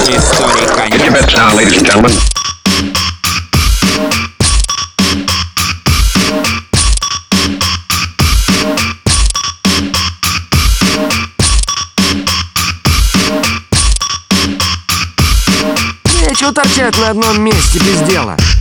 Истории конец. Get your bets down, ladies and gentlemen. Нечего торчать на одном месте без дела.